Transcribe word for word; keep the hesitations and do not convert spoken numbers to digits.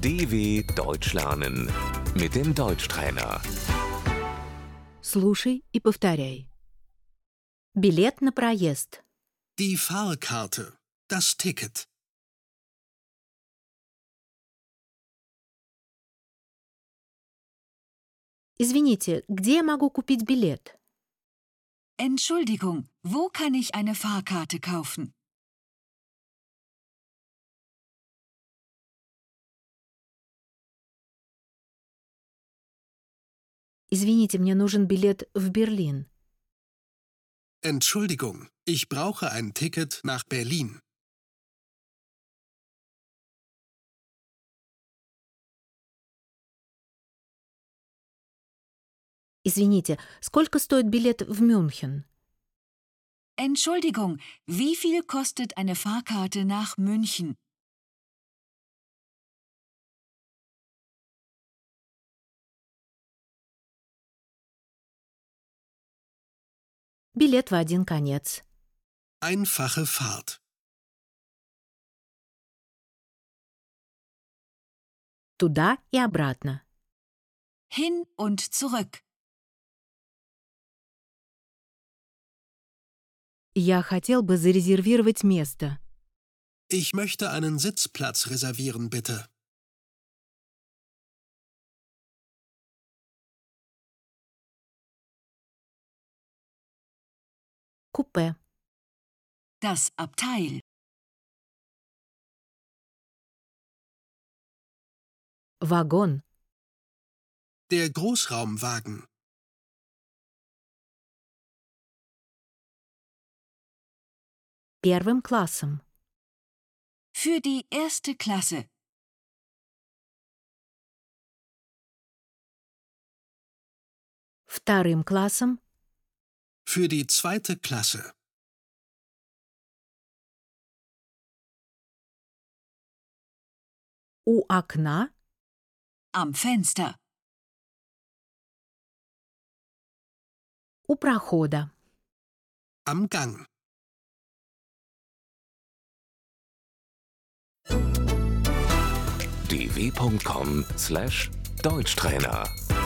D W Deutsch lernen mit dem Deutschtrainer. Слушай и повторяй. Билет на проезд. Die Fahrkarte, das Ticket. Извините, где я могу купить билет? Entschuldigung, wo kann ich eine Fahrkarte kaufen? Извините, мне нужен билет в Берлин. Entschuldigung, ich brauche ein Ticket nach Berlin. Извините, сколько стоит билет в Мюнхен? Entschuldigung, wie viel kostet eine Fahrkarte nach München? Билет в один конец. Einfache Fahrt. Туда и обратно. Hin und zurück. Я хотел бы зарезервировать место. Ich möchte einen Sitzplatz reservieren, bitte. Купе. Das Abteil. Вагон. Der Großraumwagen. Первым классом. Für die erste Klasse. Вторым классом. Für die zweite Klasse. У окна. Am Fenster. У прохода. Am Gang. d w punkt com slash Deutschtrainer